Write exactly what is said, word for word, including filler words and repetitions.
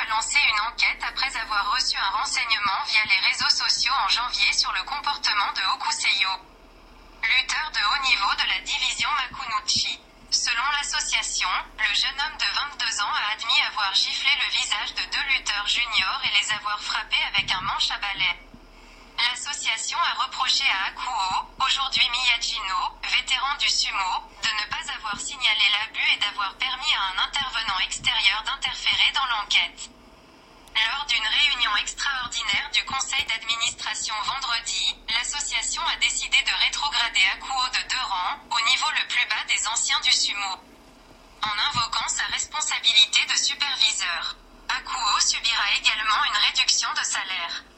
a lancé une enquête après avoir reçu un renseignement via les réseaux sociaux en janvier sur le comportement de Hokuseiyo, lutteur de haut niveau de la division Makunouchi. Selon l'association, le jeune homme de vingt-deux ans a admis avoir giflé le visage de deux lutteurs juniors et les avoir frappés avec un manche à balai. L'association a reproché à Hakuho, aujourd'hui Miyajino, vétéran du sumo, de ne pas avoir signalé l'abus et d'avoir permis à un intervenant extérieur d'interférer dans l'enquête. Lors d'une réunion extraordinaire du conseil d'administration vendredi, l'association a décidé de rétrograder Hakuho de deux rangs, au niveau le plus bas des anciens du sumo, en invoquant sa responsabilité de superviseur. Hakuho subira également une réduction de salaire.